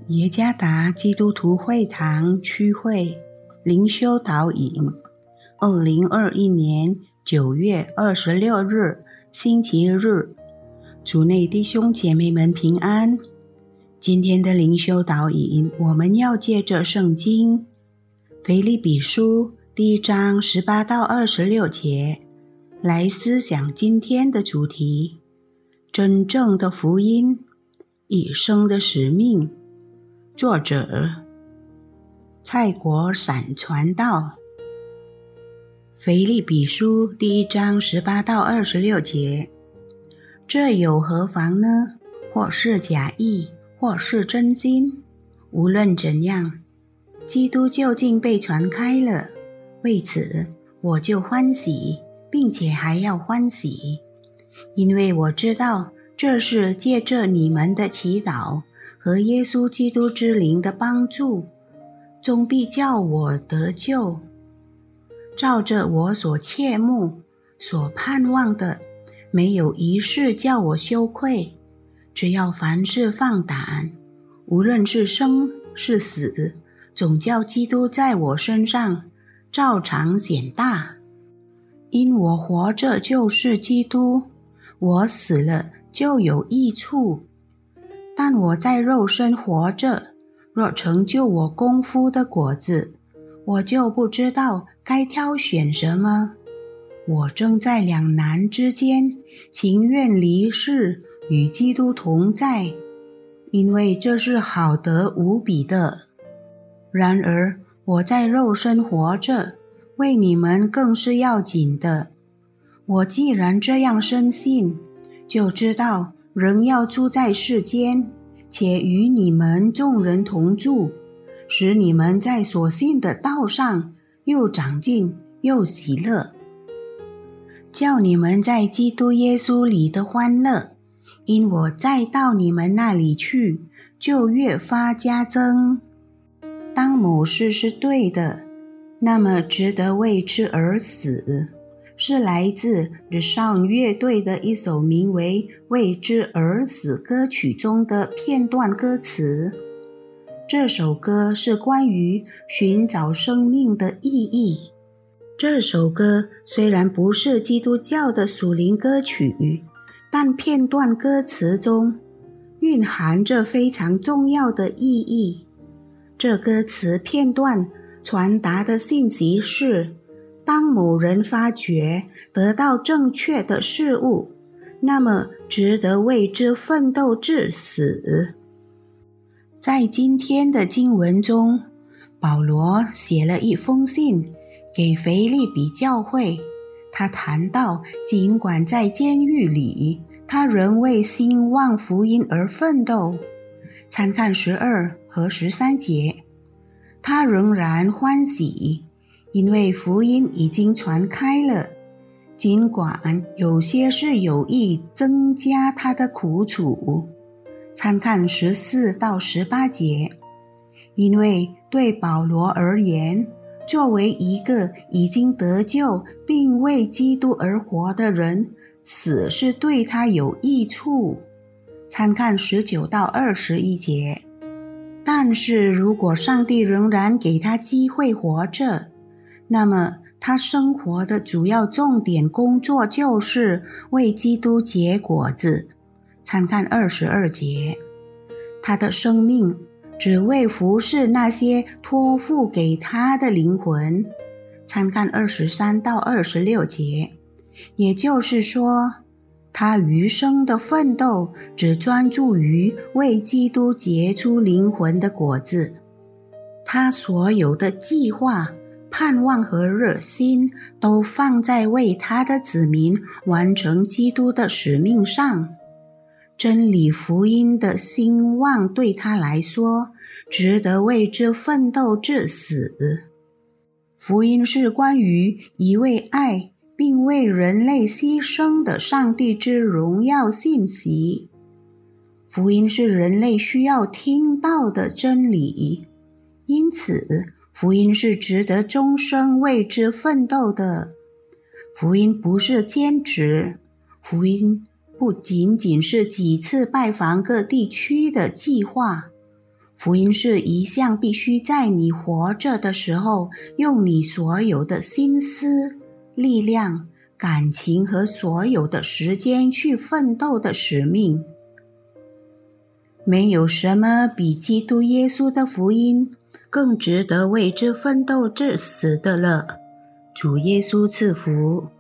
耶加达基督徒会堂区会灵修导引2021年9月26日星期日，主内弟兄姐妹们平安。今天的灵修导引，我们要借着圣经腓立比书第1章18到26节来思想今天的主题：真正的福音，一生的使命。作者蔡国闪传道。腓立比书第1章18到26节，这有何妨呢？或是假意，或是真心，无论怎样，基督究竟被传开了，为此我就欢喜，并且还要欢喜，因为我知道这是借着你们的祈祷和耶稣基督之灵的帮助，终必叫我得救。照着我所切慕、所盼望的，没有一事叫我羞愧。只要凡事放胆，无论是生是死，总叫基督在我身上照常显大。因我活着就是基督，我死了就有益处。但我在肉身活着，若成就我功夫的果子，我就不知道该挑选什么。我正在两难之间，情愿离世与基督同在，因为这是好得无比的。然而我在肉身活着，为你们更是要紧的。我既然这样深信，就知道仍要住在世间，且与你们众人同住，使你们在所信的道上又长进又喜乐，叫你们在基督耶稣里的欢乐，因我再到你们那里去，就越发加增。当某事是对的，那么值得为之而死，是来自 The Sound 乐队的一首名为《为之而死》歌曲中的片段歌词。这首歌是关于寻找生命的意义。这首歌虽然不是基督教的属灵歌曲，但片段歌词中蕴含着非常重要的意义。这歌词片段传达的信息是，当某人发觉得到正确的事物，那么值得为之奋斗至死。在今天的经文中，保罗写了一封信给腓立比教会，他谈到尽管在监狱里，他仍为兴旺福音而奋斗。参看12和13节，他仍然欢喜，因为福音已经传开了，尽管有些是有意增加他的苦楚。参看14到18节，因为对保罗而言，作为一个已经得救并为基督而活的人，死是对他有益处。参看19到21节。但是如果上帝仍然给他机会活着，那么他生活的主要重点工作就是为基督结果子。参看22节。他的生命只为服侍那些托付给他的灵魂。参看23到26节。也就是说，他余生的奋斗只专注于为基督结出灵魂的果子。他所有的计划、盼望和热心都放在为他的子民完成基督的使命上。真理福音的兴旺对他来说，值得为之奋斗至死。福音是关于一位爱并为人类牺牲的上帝之荣耀信息。福音是人类需要听到的真理，因此福音是值得终生为之奋斗的。福音不是兼职，福音不仅仅是几次拜访各地区的计划， 福音是一项必须在你活着的时候，用你所有的心思、力量、感情和所有的时间去奋斗的使命。没有什么比基督耶稣的福音更值得为之奋斗至死的了。主耶稣赐福。